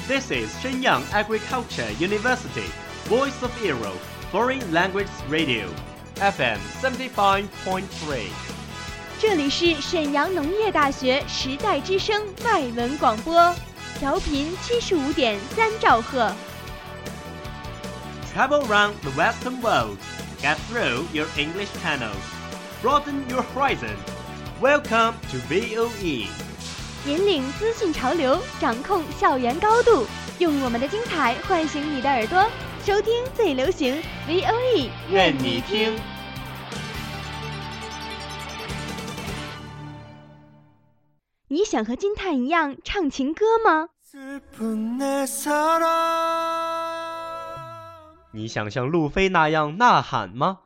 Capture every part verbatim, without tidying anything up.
This is Shenyang Agriculture University, Voice of Europe, Foreign Language Radio, F M seventy-five point three。 这里是沈阳农业大学时代之声外文广播，调频七十五点三兆赫。 Travel around the Western world, get through your English channels, broaden your horizon. Welcome to V O E。 引领资讯潮流，掌控校园高度，用我们的精彩唤醒你的耳朵，收听最流行 V O E， 愿你听。 你想和金叹一样唱情歌吗？ 你想像路飞那样呐喊吗？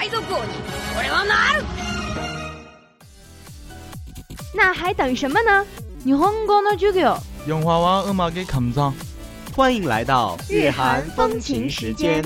那还等什么呢？日本語の授業。 영화와 음악의 감상。 欢迎来到日韩风情时间。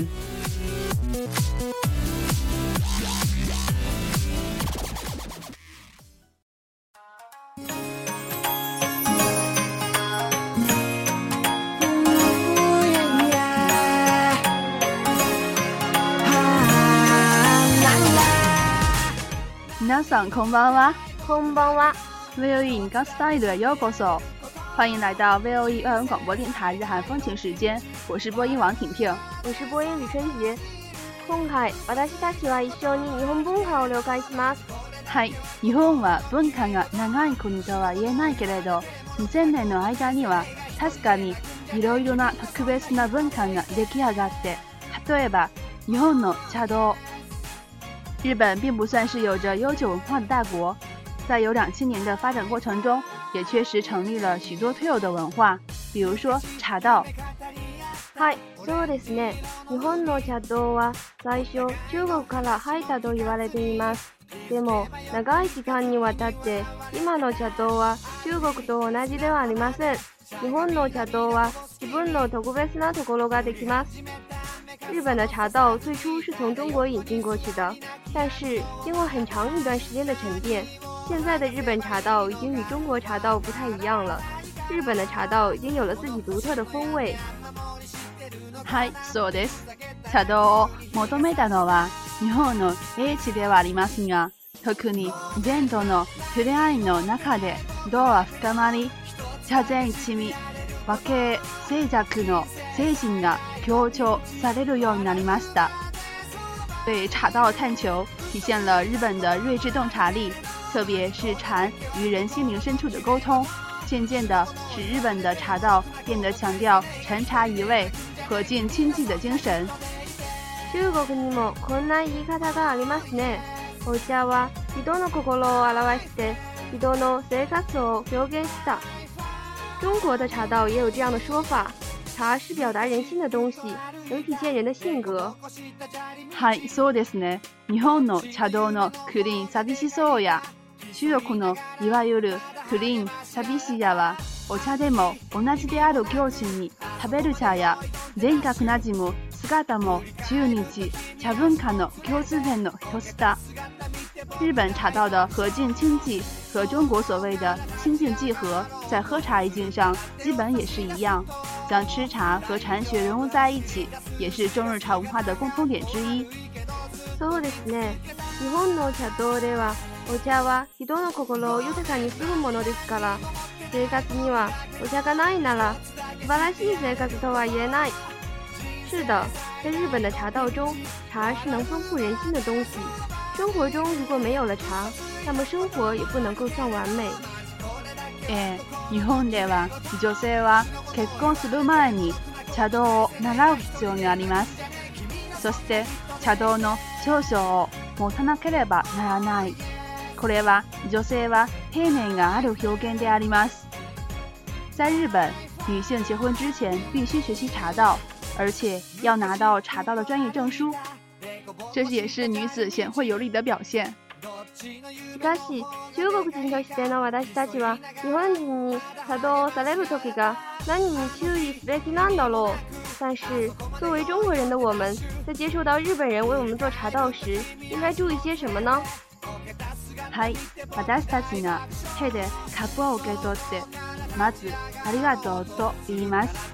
皆さんこんばんは。 こんばんは。 V O E 日本スタイルへようこそ，欢迎来到 V O E 外文广播电台日韩风情时间，我是播音王婷婷， 我是播音李春杰。今回私たちは一緒に日本文化を了解します。 はい、日本は文化が長い国とは言えないけれど、にせんねんの間には確かにいろいろな特別な文化が出来上がって、例えば日本の茶道。日本并不算是有着悠久文化的大国。在有两千年的发展过程中，也确实成立了许多特有的文化，比如说茶道。 はい、そうですね。日本の茶道は最初中国から入ったと言われています。でも長い時間にわたって今の茶道は中国と同じではありません。日本の茶道は自分の特別なところができます。日本的茶道最初是从中国引进过去的，但是经过很长一段时间的沉淀。现在的日本茶道已经与中国茶道不太一样了，日本的茶道已经有了自己独特的风味。 はい、そうです。茶道を求めたのは日本の英知ではありますが、特に禅との触れ合いの中で道は深まり、茶禅一味、和敬静寂の精神が強調されるようになりました。对茶道探求，体现了日本的睿智洞察力。特别是禅与人心灵深处的沟通，渐渐地使日本的茶道变得强调禅茶一味、和敬亲近的精神。 中国にもこんな言い方がありますね。お茶は人の心を表して人の生活を表現した。中国的茶道也有这样的说法，茶是表达人心的东西，能体现人的性格。 はい、そうですね。日本の茶道のクリーン寂しそうや。中国のいわゆるクリーン寂しやはお茶でも同じである境地に食べる茶や全角なじむ姿も中日茶文化の共通点の一つだ。日本茶道的和敬亲近和中国所谓的亲近契合，在喝茶一境上基本也是一样，将吃茶和禅学融入在一起，也是中日茶文化的共通点之一。 そうですね。日本の茶道ではお茶は人の心を豊かにするものですから、生活にはお茶がないなら素晴らしい生活とは言えない。是的，在日本的茶道中，茶是能丰富人心的东西。生活中如果没有了茶，那么生活也不能够算完美。 えー、日本では女性は結婚する前に茶道を習う必要があります。そして茶道の長所を持たなければならない。これは女性は丁寧がある表現であります。在日本，女性结婚之前必须学习茶道，而且要拿到茶道的专业证书，这也是女子贤惠有礼的表现。 しかし、中国人としての私たちは日本人に茶道をされる時が何に注意すべきなんだろう。但是，作为中国人的我们，在接受到日本人为我们做茶道时，应该注意些什么呢？ はい、私たちが手でカップを受け取って、まずありがとうと言います。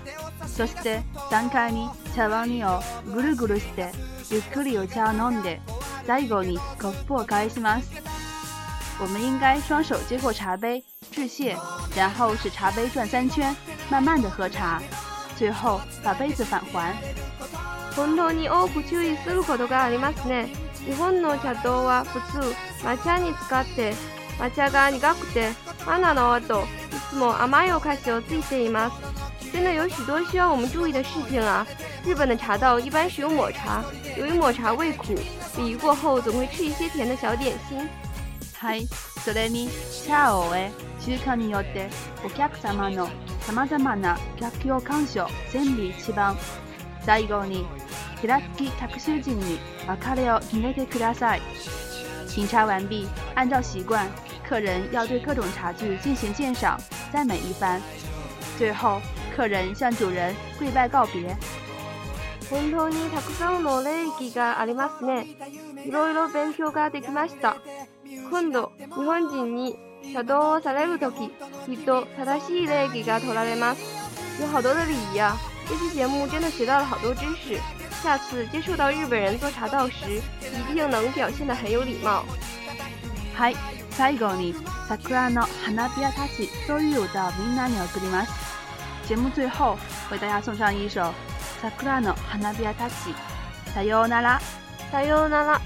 そしてさんかいに茶碗をぐるぐるしてゆっくりお茶を飲んで最後にコップを返します。我们应该双手接过茶杯致谢，然后使茶杯转三圈，慢慢的喝茶，最后把杯子返还。 本当に多く注意することがありますね。日本の茶道は普通抹茶に使って抹茶が苦くてマナの後いつも甘いお菓子をついています。真的有许多需要我们注意的事情啊。日本的茶道一般使用抹茶，由于抹茶味苦，礼仪过后总会吃一些甜的小点心。 はい、それに茶を終え習慣によってお客様のさまざまな楽器を鑑賞全部一番。最後に寺付き客衆陣に別れを決めてください。品茶完毕，按照习惯，客人要对各种茶具进行鉴赏，赞美一番。最后，客人向主人跪拜告别。 本当にたくさんの礼儀がありますね。いろいろ勉強ができました。今度、日本人に茶道をされるとき、きっと正しい礼儀が取られます。有好多的礼仪啊！这期节目真的学到了好多知识。下次接触到日本人做茶道时，一定能表现得很有礼貌。 はい、最後に桜の花びらたちという歌をみんなに送ります。节目最后为大家送上一首桜の花びらたち。さようなら。 さようなら。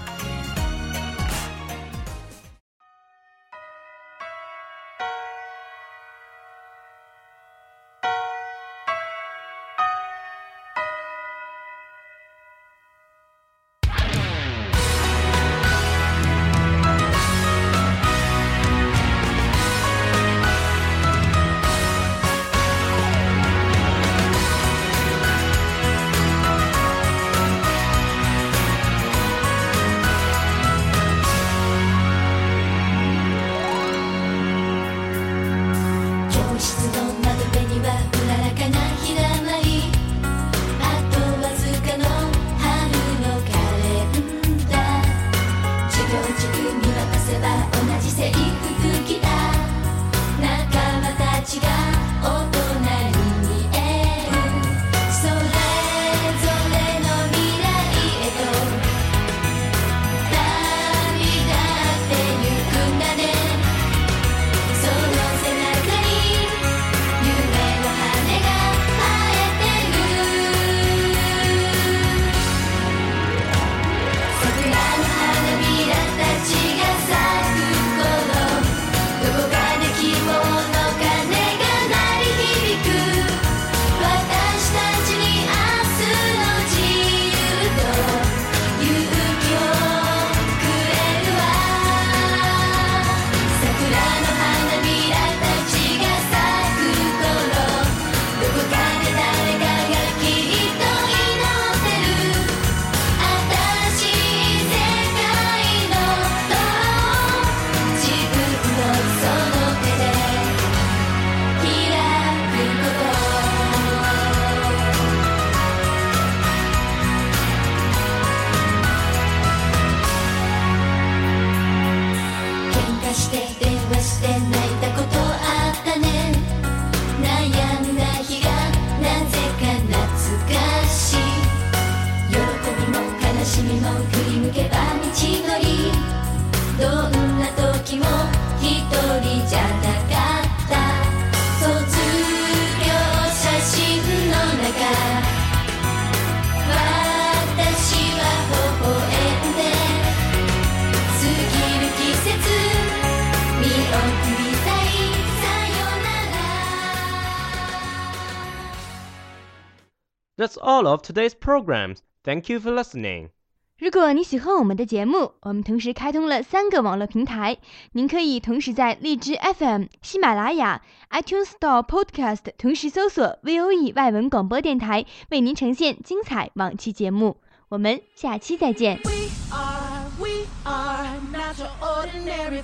That's all of today's programs. Thank you for listening. 如果你喜欢我们的节目，我们同时开通了三个网络平台，您可以同时在荔枝 F M、喜马拉雅、iTunes Store Podcast 同时搜索 V O E 外文广播电台，为您呈现精彩往期节目。我们下期再见。We are, we are not your ordinary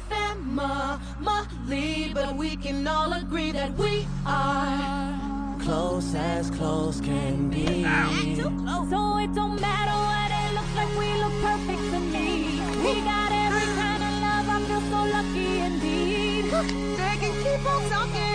family, but we can all agree that we are close as close can be. Too close. So it don't matter what it looks like, we look perfect to me. We got every kind of love, I feel so lucky indeed. They can keep on talking.